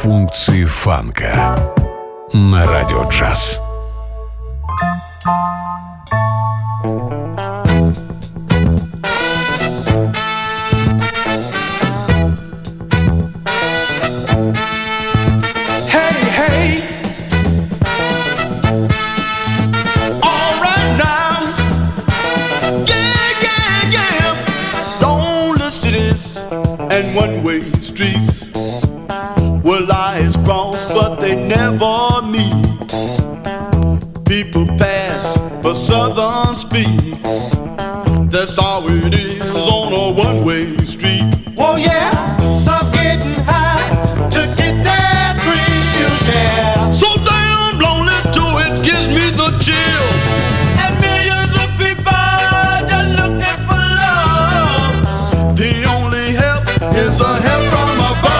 Функции фанка на Радио Джаз. One-way streets where lies cross, but they never meet. People pass for southern speed. That's how it is on a one-way street. Oh yeah, stop getting high to get that thrill, yeah. So damn lonely too, it gives me the chills. And millions of people just looking for love. The only help is the help from above.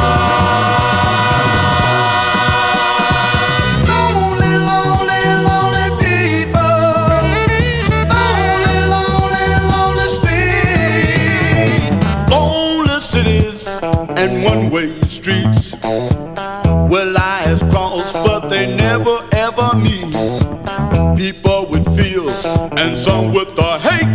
Lonely, lonely, lonely people. Lonely, lonely, lonely streets. Lonely cities and one-way streets where lies cross, but they never ever meet. People with fears and some with the hate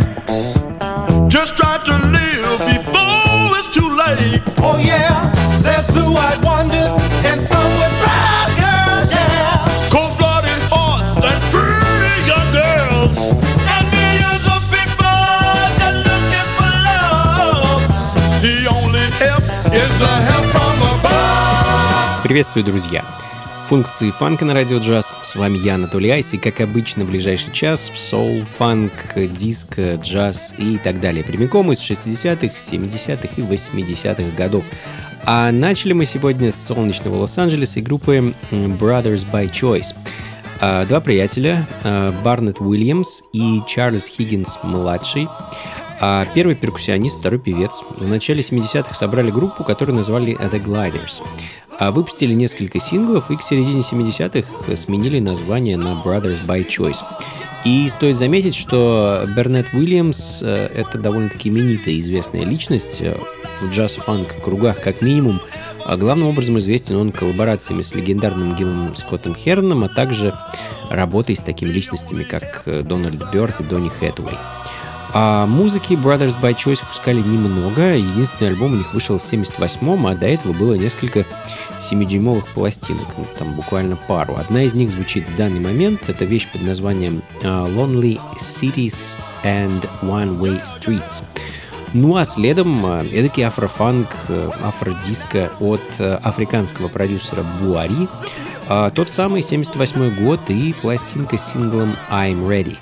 just try to live before it's too late. Oh yeah, there's blue-eyed wonders and some with brown girls, yeah. Cold-blooded hearts and pretty young girls. And millions of people just looking for love. The only help is the help from above. Приветствую, друзья! Функции фанка на Радио Джаз. С вами я, Анатолий Айс, и, как обычно, в ближайший час соул, фанк, диско, джаз и так далее. Прямиком из 60-х, 70-х и 80-х годов. А начали мы сегодня с солнечного Лос-Анджелеса и группы Brothers by Choice. Два приятеля, Барнетт Уильямс и Чарльз Хиггинс-младший. Первый перкуссионист, второй певец. В начале 70-х собрали группу, которую назвали The Gliders. Выпустили несколько синглов и к середине 70-х сменили название на Brothers by Choice. И стоит заметить, что Барнетт Уильямс — это довольно-таки именитая известная личность в джаз-фанк кругах, как минимум. Главным образом известен он коллаборациями с легендарным Гиллом Скоттом Херном, а также работой с такими личностями, как Дональд Бёрд и Донни Хэтуэй. Музыки Brothers by Choice выпускали немного. Единственный альбом у них вышел в 78-м, а до этого было несколько 7-дюймовых пластинок, там буквально пару. Одна из них звучит в данный момент. Это вещь под названием Lonely Cities and One-Way Streets. Ну а следом эдакий афрофанк, афродиско от африканского продюсера Буари. Тот самый 78-й год и пластинка с синглом I'm Ready.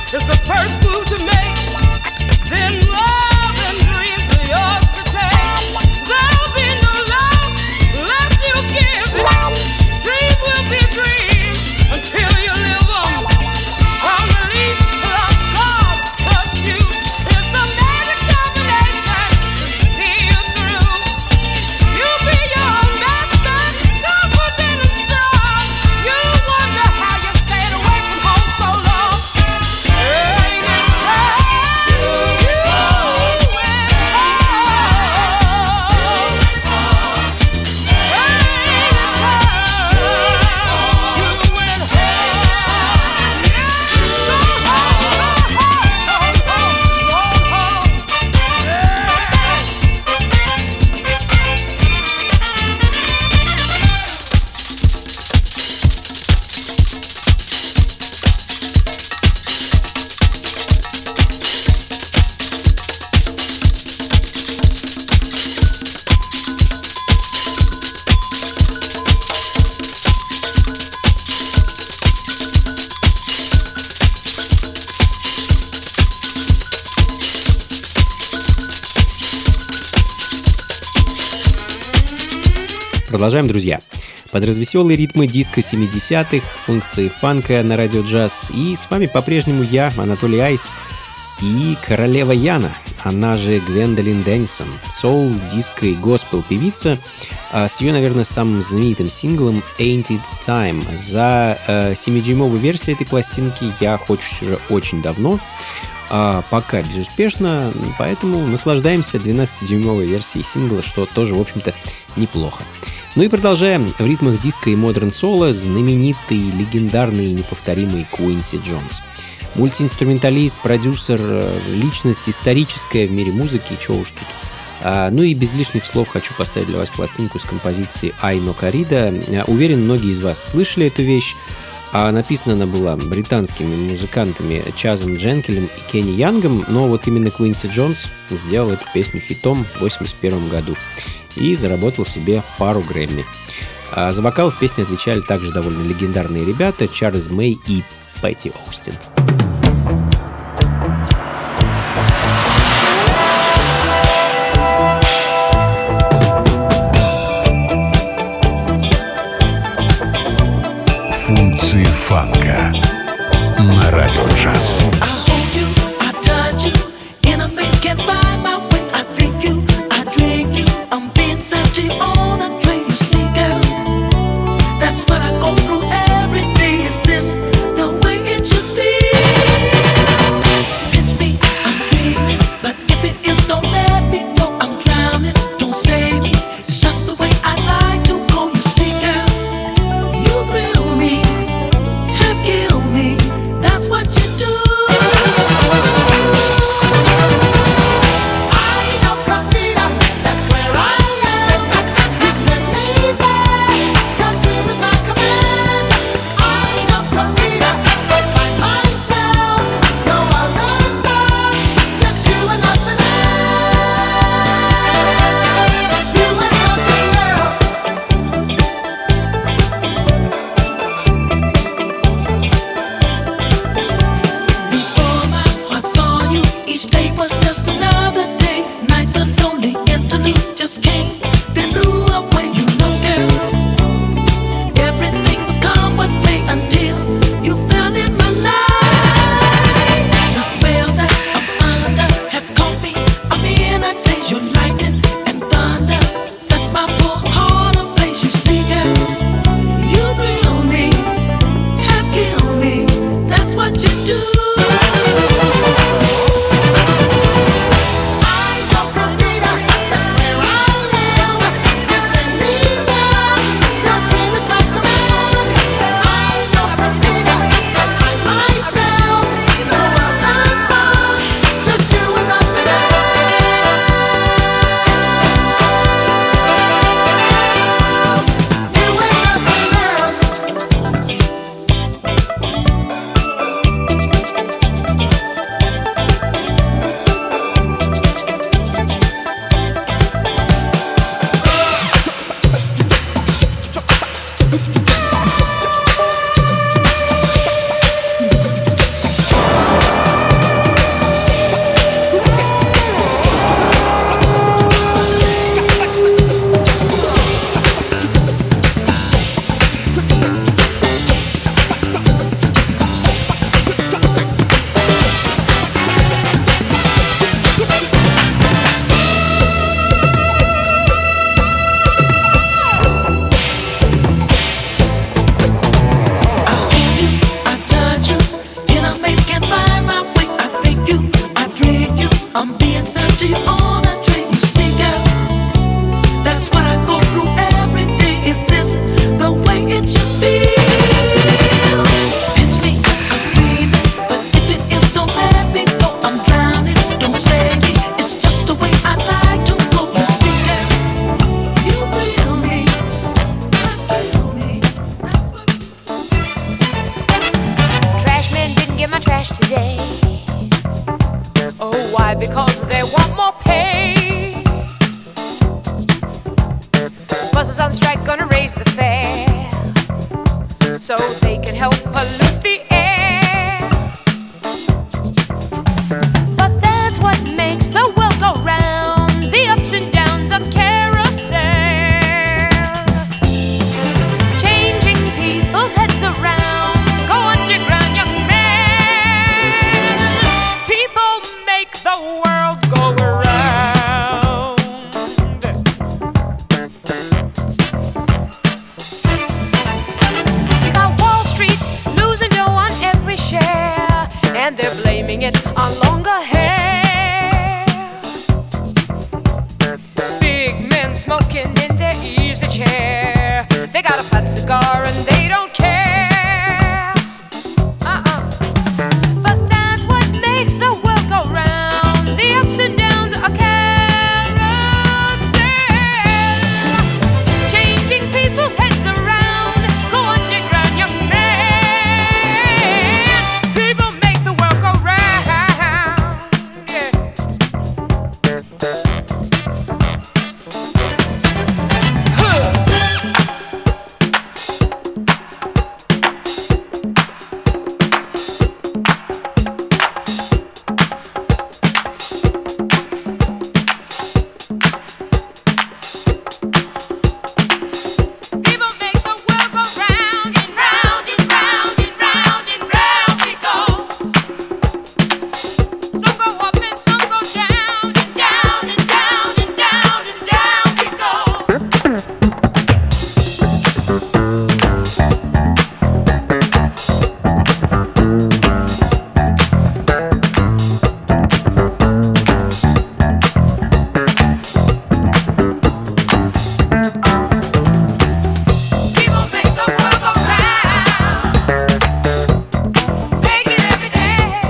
is the first move to make. Then love and dreams are yours to take. There'll be no love unless you give it. Dreams will be dreams until you live them. From relief plus God plus you is the magic combination to see you through. You be your own master, confident and strong. You wonder how you stayed away from home so long. Ain't it time you went home? Ain't it Продолжаем, друзья. Под развеселые ритмы диска 70-х, функции фанка на радио джаз. И с вами по-прежнему я, Анатолий Айс, и королева Яна, она же Гвендолин Дэннисон, соул, диско и госпел певица, с ее, наверное, самым знаменитым синглом «Ain't It Time». За 7-дюймовую версию этой пластинки я хочусь уже очень давно, пока безуспешно, поэтому наслаждаемся 12-дюймовой версией сингла, что тоже, в общем-то, неплохо. Ну и продолжаем в ритмах диска и модерн соло знаменитый, легендарный и неповторимый Куинси Джонс. Мультиинструменталист, продюсер, личность историческая в мире музыки, чего уж тут. Ну и без лишних слов хочу поставить для вас пластинку с композицией «Ай но Корида». Уверен, многие из вас слышали эту вещь. Написана она была британскими музыкантами Чазом Дженкелем и Кенни Янгом, но вот именно Куинси Джонс сделал эту песню хитом в 1981 году и заработал себе пару Грэмми. За вокал в песне отвечали также довольно легендарные ребята Чарльз Мэй и Пэтти Оустин. Функции фанка на радио джаз. That's what you do. finish today. Oh, why? Because they want more pay. Buses on strike gonna raise the fare so they can help pollute the air. But that's what makes the world go round, the ups and downs of carousel, changing people's heads around. Go underground, young man. People make the world go around. You got Wall Street losing dough on every share, and they're blaming it on longer hair. Big men smoking in their easy chair. They got a fat cigar and they don't care. But that's what makes the world go round, the ups and downs of carousel, changing people's heads around. Go underground, young man. People make the world go round. Yeah. People make the world go round and round and round and round and round we go. Some go up and some go down and down and down and down and down we go. People make the world go round, make it every day.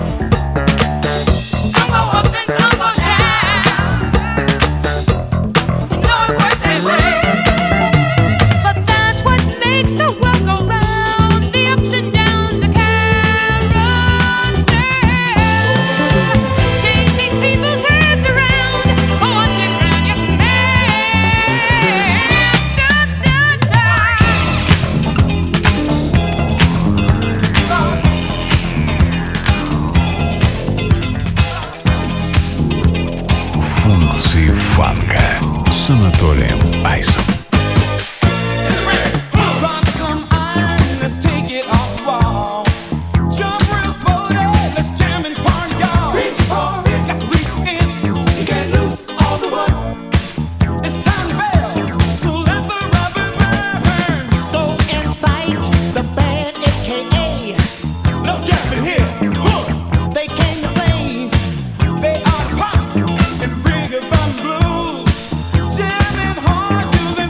Some go up and some go down. You know it works that way. But that's what makes the world go round, the ups and downs of carousel, changing people's heads around. Go underground, young man. Da, da, da. Функции фанка с Анатолием Айсом. Drop some iron, let's take it off the wall. Jump real sporty, let's jam and party, y'all. Reach for it, got to reach in. You get loose all the way. It's time to bail, so let the rubber burn. Go and fight the band, aka no jumping here. They came to play. They are pop and reggae blues, jamming hard, using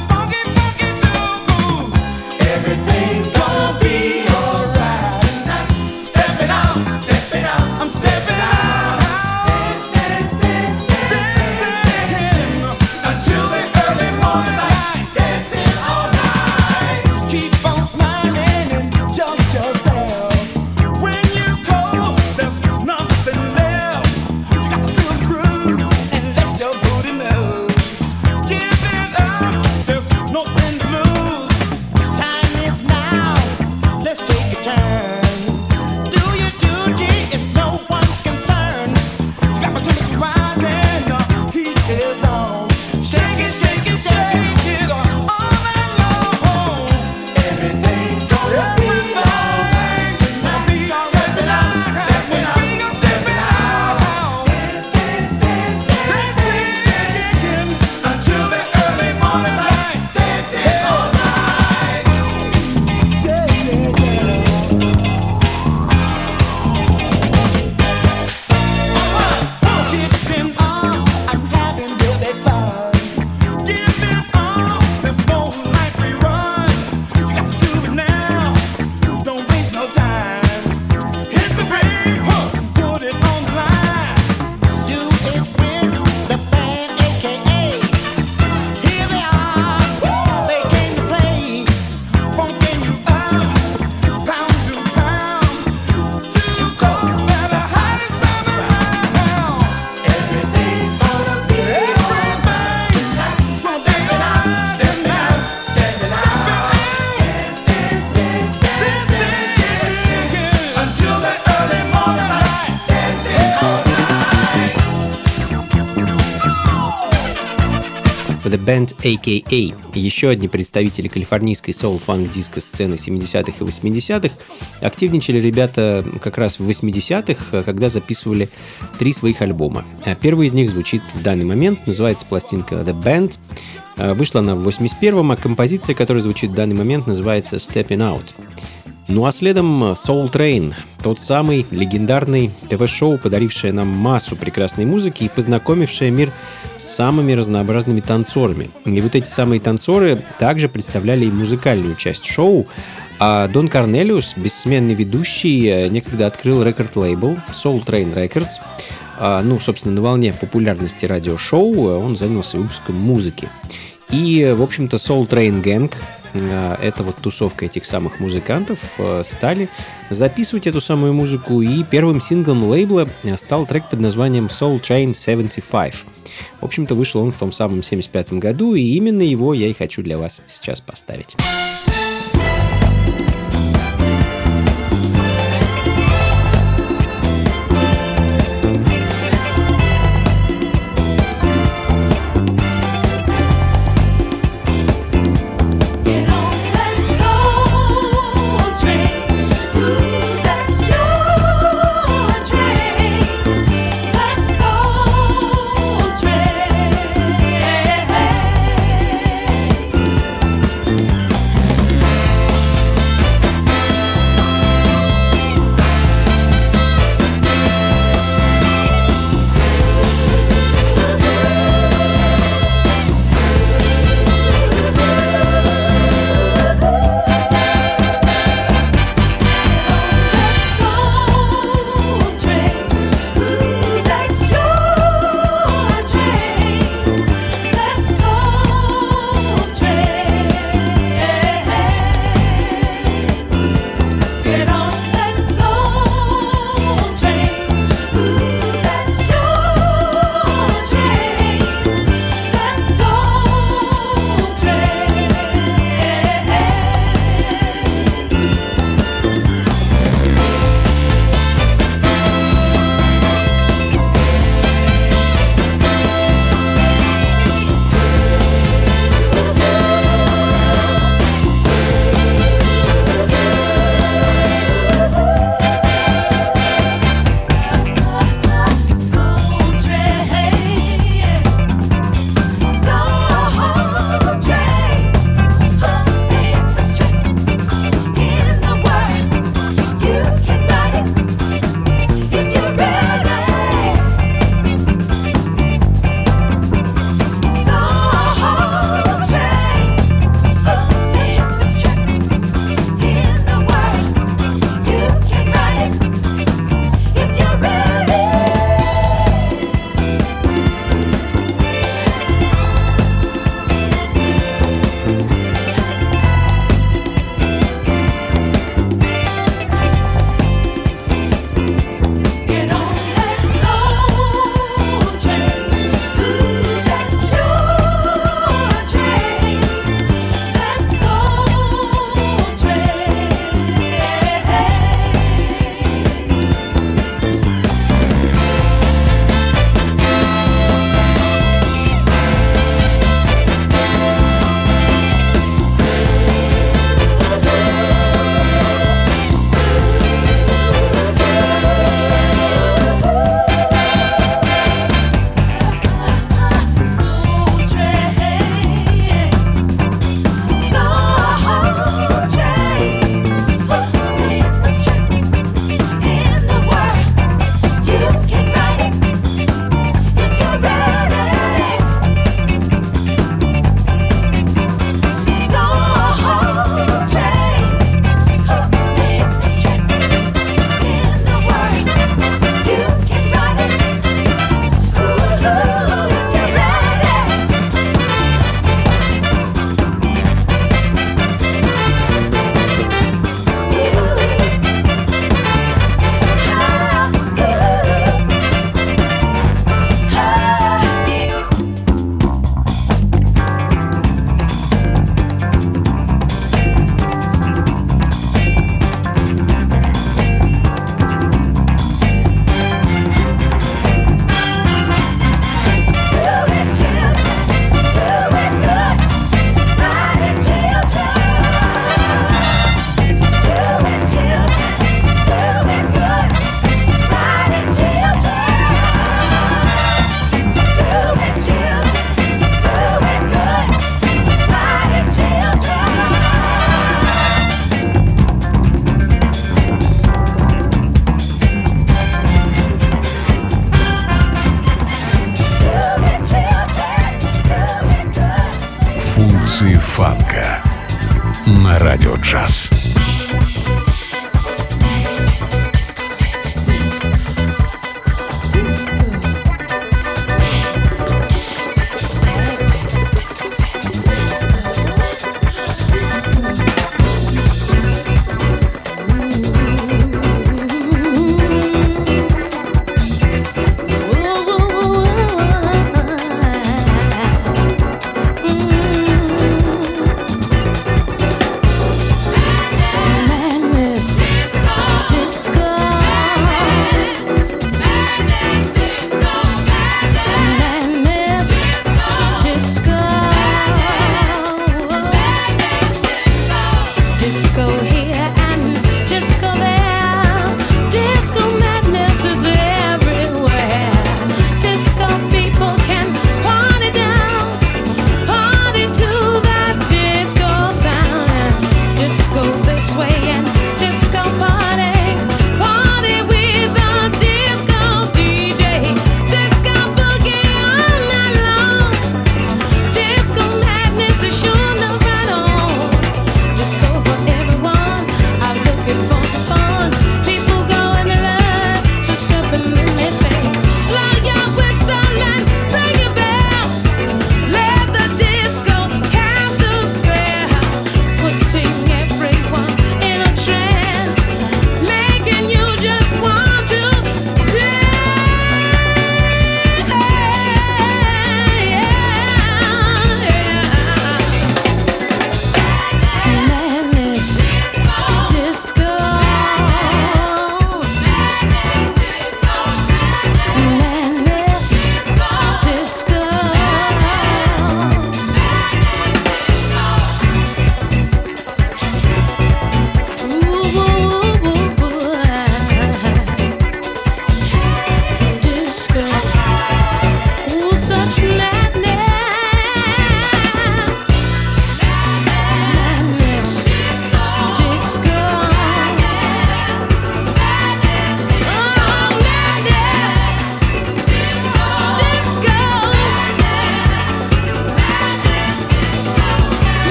The Band A.K.A. Еще одни представители калифорнийской соул-фанк-диско сцены 70-х и 80-х. Активничали ребята как раз в 80-х, когда записывали 3 своих альбома. Первый из них звучит в данный момент, называется пластинка The Band. Вышла она в 81-м, а композиция, которая звучит в данный момент, называется Stepping Out. Ну а следом Soul Train, тот самый легендарный ТВ-шоу, подарившее нам массу прекрасной музыки и познакомившее мир с самыми разнообразными танцорами. И вот эти самые танцоры также представляли и музыкальную часть шоу, а Дон Корнелиус, бессменный ведущий, некогда открыл рекорд-лейбл Soul Train Records. Ну, собственно, на волне популярности радиошоу он занялся выпуском музыки. И, в общем-то, Soul Train Gang, это вот тусовка этих самых музыкантов, стали записывать эту самую музыку, и первым синглом лейбла стал трек под названием Soul Train 75. В общем-то, вышел он в том самом 75 году, и именно его я и хочу для вас сейчас поставить. на радио джаз. Mm-hmm.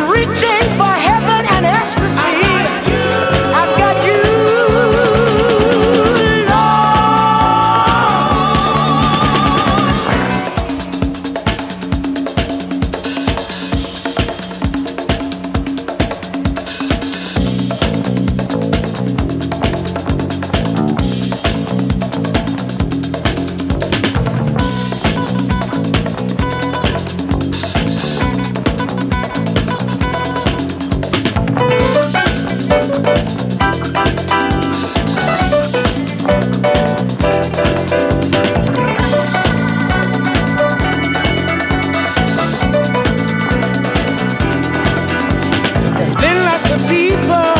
reaching for heaven and ecstasy. I've got you, there's been lots of people,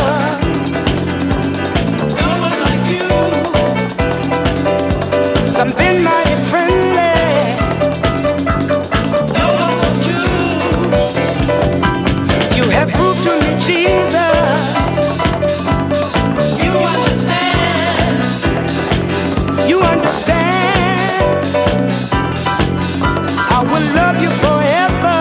no one like you. Some been mighty friendly, no one so true. You have proved to me, Jesus, you understand. You understand. I will love you forever.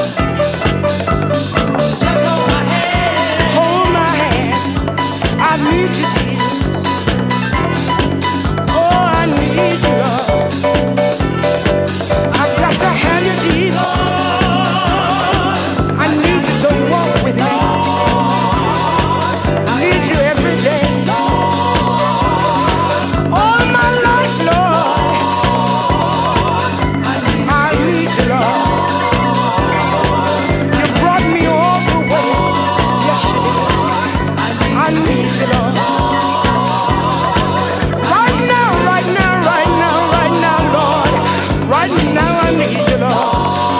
Just hold my hand. Hold my hand. I need you, Jesus. Oh, I need you, Lord. I've got to have you, Jesus. I need you to walk with me. I need you every day. All my life, Lord. I need you, Lord. You brought me all the way. Yes, you did. I need you, Lord. Right now, right now, right now, right now, Lord. Right now, I need you, Lord.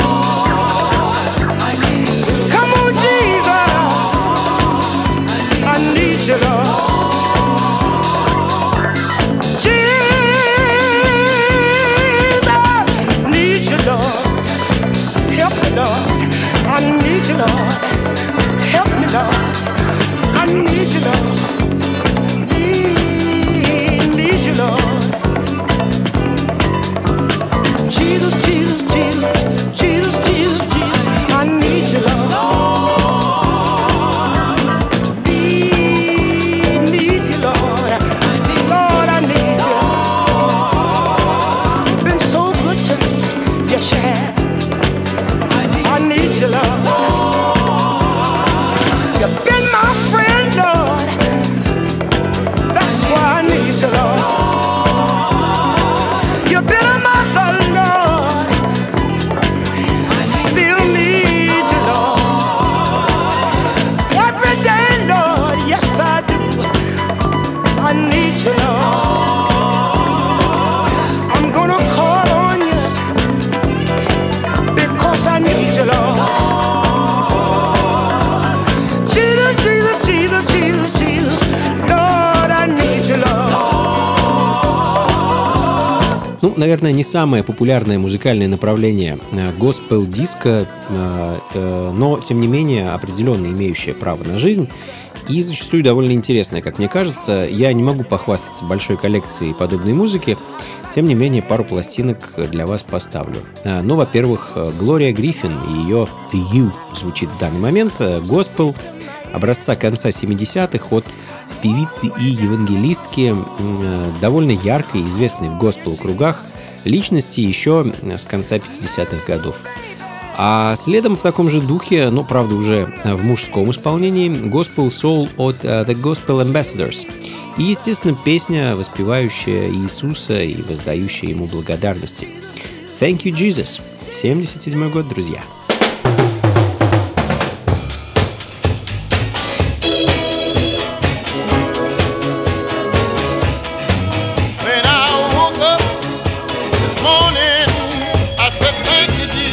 Come on, Jesus. I need you, Lord. Jesus, need you, Lord. Help me, Lord. I need you, Lord. Help me, Lord. I need you, Lord. Need you, Lord. Jesus, Jesus, Jesus, Jesus, Jesus, Jesus. I need you, Lord. Need you, Lord. Lord, I need you. You've been so good to me. Yes, you have. I need you, Lord. You've been my friend, Lord. That's why I need you, Lord. You've been a mother, Lord. I still need you, Lord. Every day, Lord. Yes, I do. I need you, Lord. I'm gonna call on you because I need you, Lord. Jesus, Jesus, Jesus, Jesus, Jesus. Lord, I need you, Lord. Ну, наверное, не самое популярное музыкальное направление госпел-диско, но, тем не менее, определенно имеющее право на жизнь и зачастую довольно интересное, как мне кажется. Я не могу похвастаться большой коллекцией подобной музыки, тем не менее, пару пластинок для вас поставлю. Ну, во-первых, Глория Гриффин и ее «The You» звучит в данный момент. Госпел образца конца 70-х от певицы и евангелистки, довольно яркой, известной в госпел-кругах, личности еще с конца 50-х годов. А следом в таком же духе, но, правда, уже в мужском исполнении, Gospel Soul от The Gospel Ambassadors. И, естественно, песня, воспевающая Иисуса и воздающая ему благодарности. Thank you, Jesus. 77-й год, друзья. When I woke up this morning, I said, thank you, Jesus.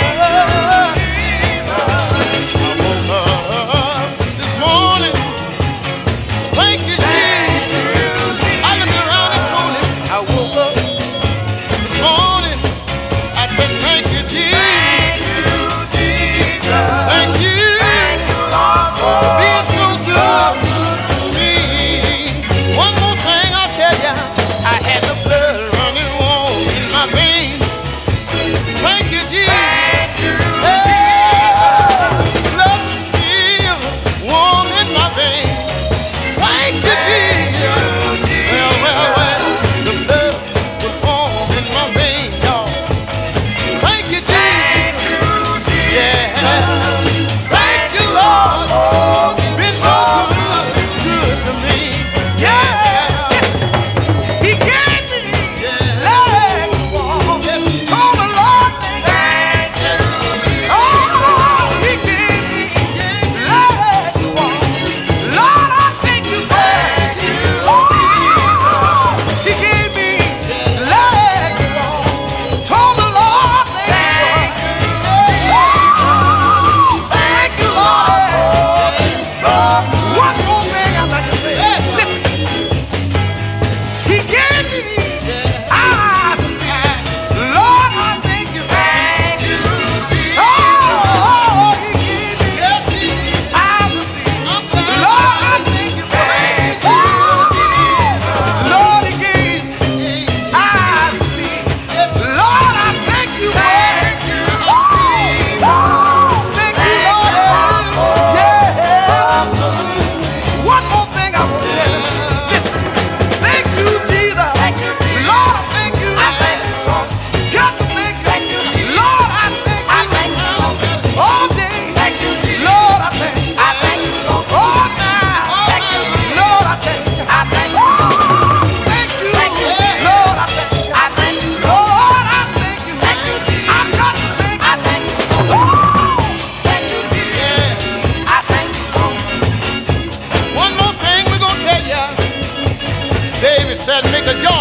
I woke up this morning, thank you, Jesus. I looked around and told him, I woke up this morning, I said, thank you, Jesus.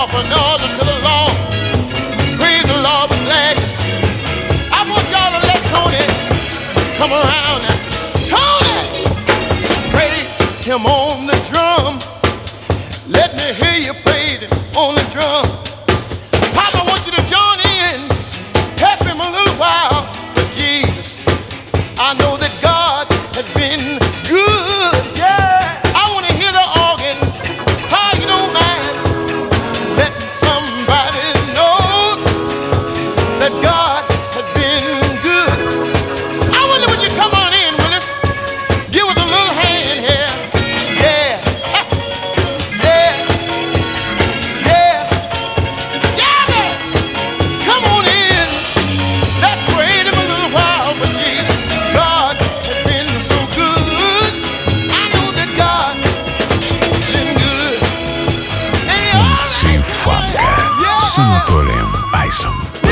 offer an order to the Lord. Praise the Lord with gladness. I want y'all to let Tony come around now. Tony, praise him on the drum. Let me hear you praise him on the drum. Papa, I want you to join in. Help him a little while for Jesus. I know that God has been good. Yeah. I want to hear the organ. How you don't mind letting somebody know that God has been good. I wonder would you come on in with us? Give us a little hand here. Yeah. Yeah. Yeah. Yeah, man. Come on in. Let's praise him a little while for Jesus. God has been so good. I know that God has been good. Hey, all right. Функции фанка с Анатолием Айсом.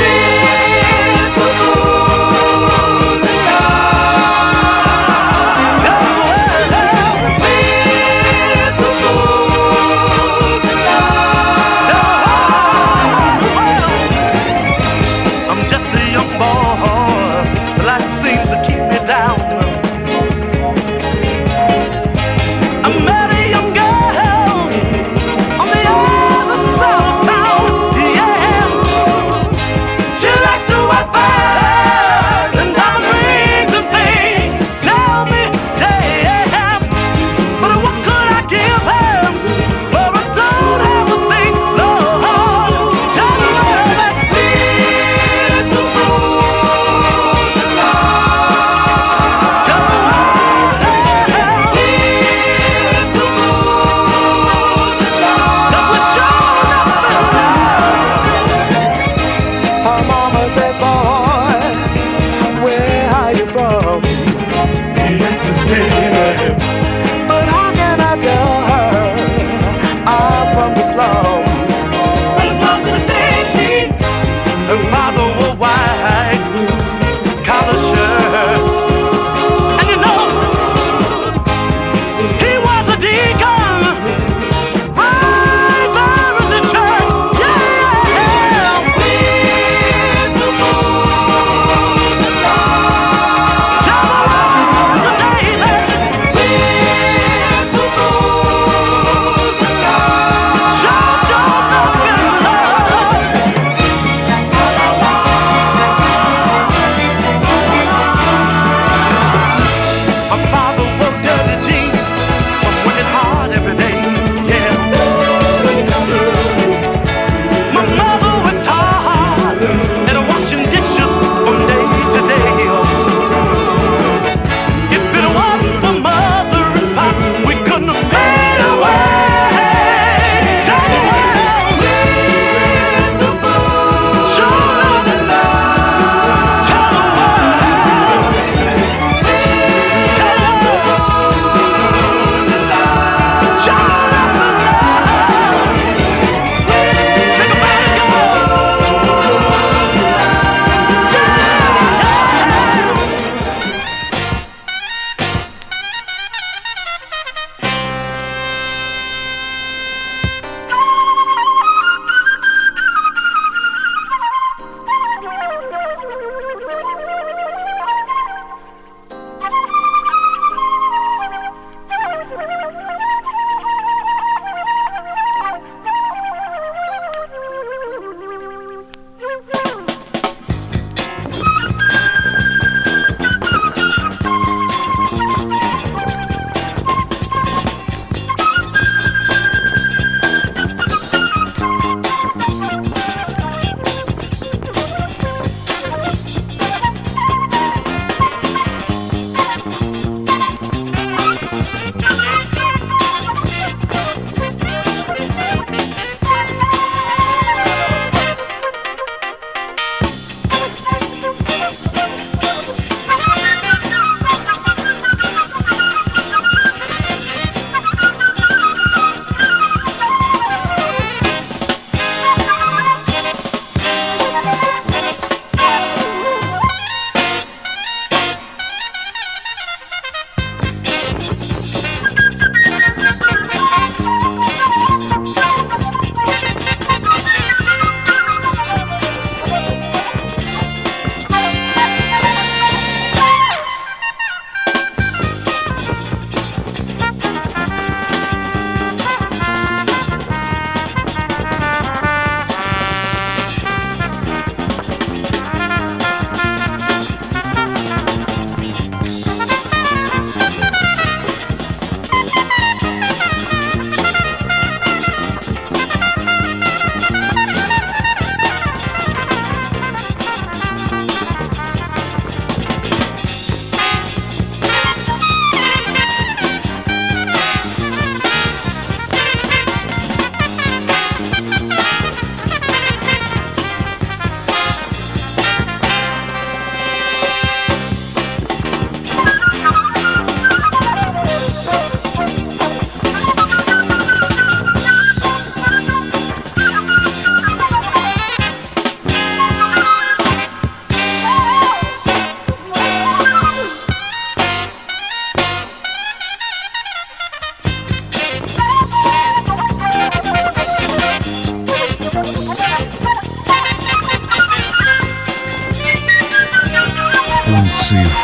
I'm just a young boy. Life seems to keep me down. I met a young girl on the other side of town. Yeah.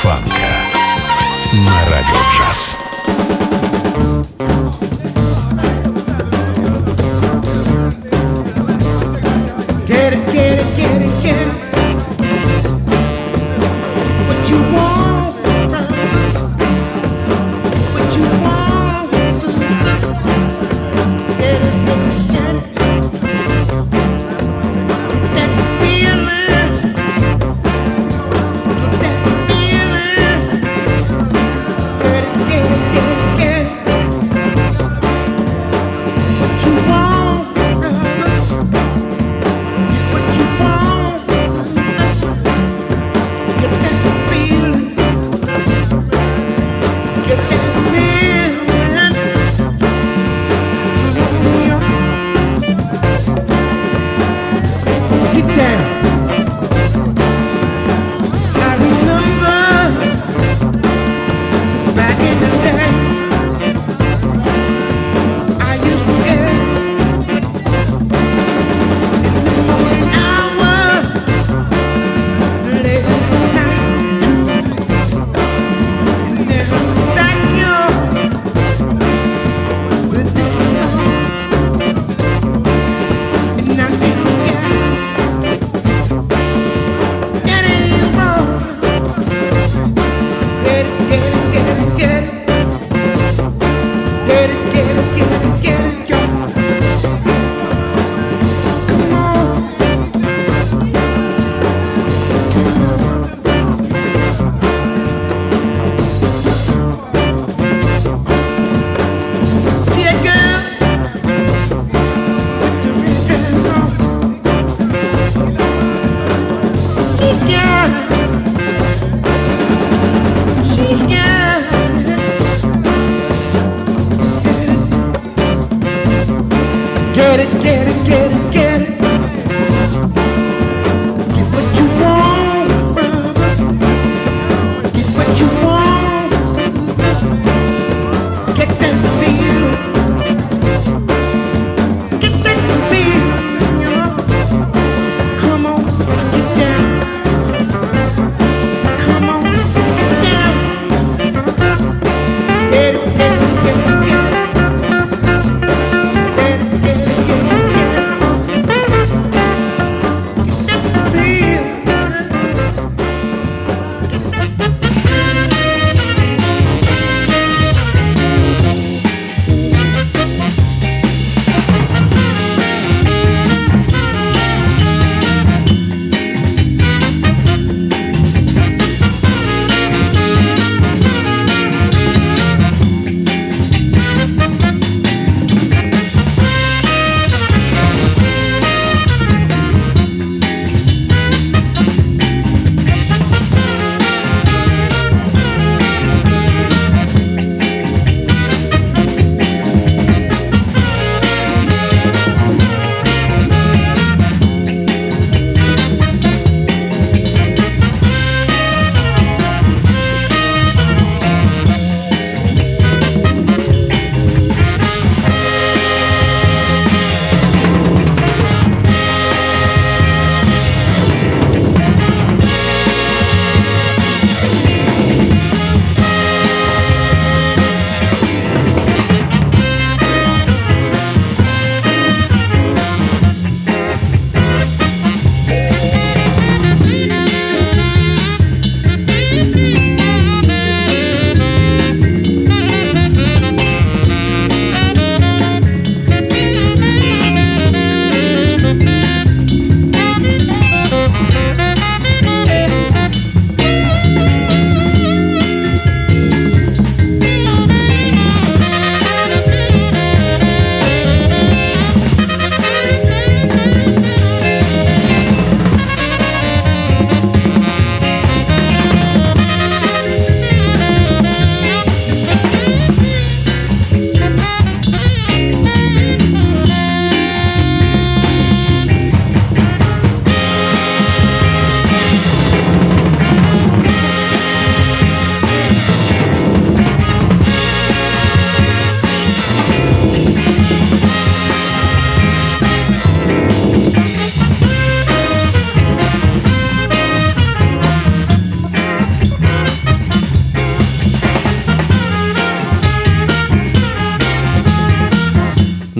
фанка на радио джаз. Get it, get it, get it, get it. What you want, what you want, sisters. Get it, get it. That feeling, that feeling.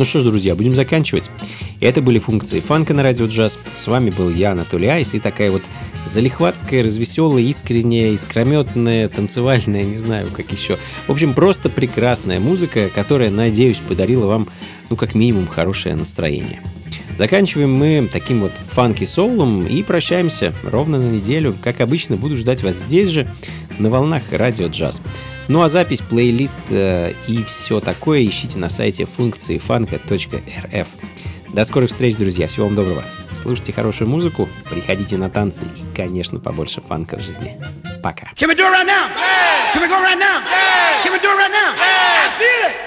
Ну что ж, друзья, будем заканчивать. Это были функции фанка на радио джаз. С вами был я, Анатолий Айс, и такая вот залихватская, развеселая, искренняя, искрометная, танцевальная, не знаю, как еще. В общем, просто прекрасная музыка, которая, надеюсь, подарила вам, ну, как минимум, хорошее настроение. Заканчиваем мы таким вот фанки-соулом и прощаемся ровно на неделю. Как обычно, буду ждать вас здесь же, на волнах радио джаз. Ну а запись, плейлист и все такое ищите на сайте функции фанка.рф. До скорых встреч, друзья. Всего вам доброго. Слушайте хорошую музыку, приходите на танцы и, конечно, побольше фанка в жизни. Пока. Can we do it right now? Yeah. Can we go right now? Yeah. Can we do it right now? Yeah. I feel it.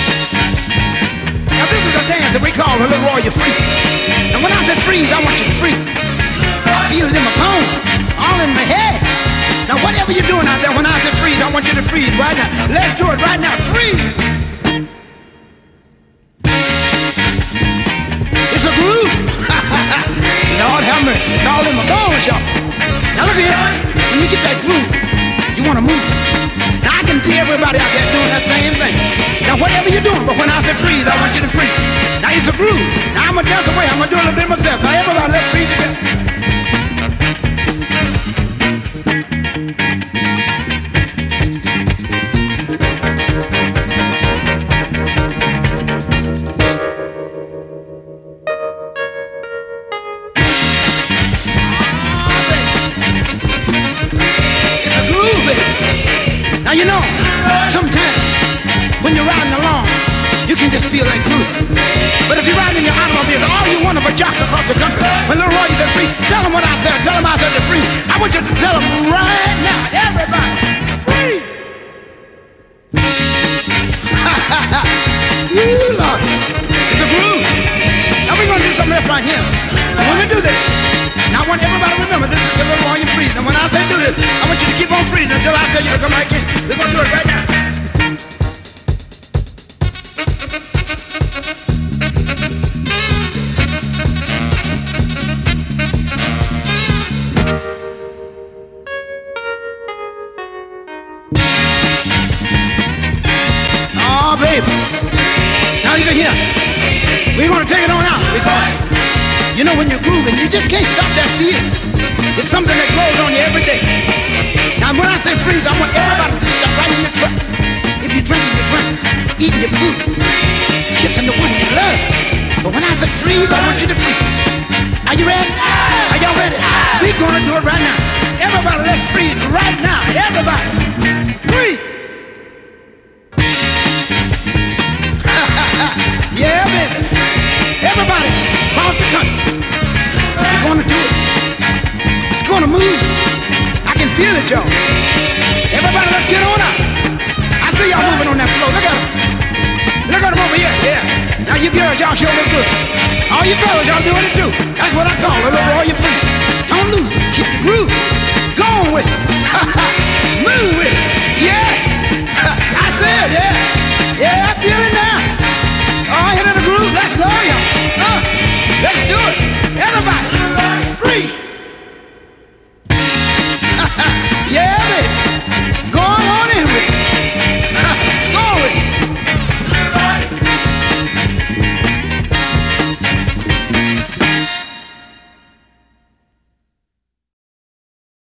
Now this is a dance that we call a little warrior freeze. And when I said freeze, I want you to freeze. I feel it in my bones, all in my head. Now whatever you're doing out there, when I said freeze, I want you to freeze right now. Let's do it right now. Freeze. It's a groove. Lord have mercy. It's all in my bones, y'all. Now look here. When you get that groove, you want to move. Now I can see everybody out there doing that same thing. Now whatever you're doing, but when I say freeze, I want you to freeze. Now it's a groove. Now I'm going to dance away. I'm going to do a little bit myself. Now everybody, let's freeze together. Now you know, sometimes when you're riding along, you can just feel that groove. But if you're riding in your automobile, all you want is a jock across the country. When Little Roy said free, tell them what I said. Tell them I said they're free. I want you to tell them right now, everybody, free. Woo, Lord, it's a groove. Now we're gonna do something else right here. And when we do this, now I want everybody to remember this is the Little Roy freeze. And when I say do this, I want you to keep on freezing until I tell you to come back in. We're gonna do it right now. Oh, baby. Now you can hear. We're gonna take it on out because you know when you're grooving, you just can't stop that feeling. It's something that grows on you every day. Now when I say freeze, I want everybody to stop right in the truck. If you're drinking your drinks, eating your food, kissing the one you love. But when I say freeze, I want you to freeze. Are you ready? Are y'all ready? We're gonna do it right now. Everybody, let's freeze right now. Everybody, freeze. Yeah, baby. Everybody, across the country. We're gonna do it. It's gonna move. I can feel it, y'all. Everybody, let's get on out. I see y'all moving on that floor. Look at them. Look at them over here. Yeah. Now you girls, y'all sure look good. All you fellas, y'all doing it too. That's what I call a little royal free. Don't lose it. Keep the groove.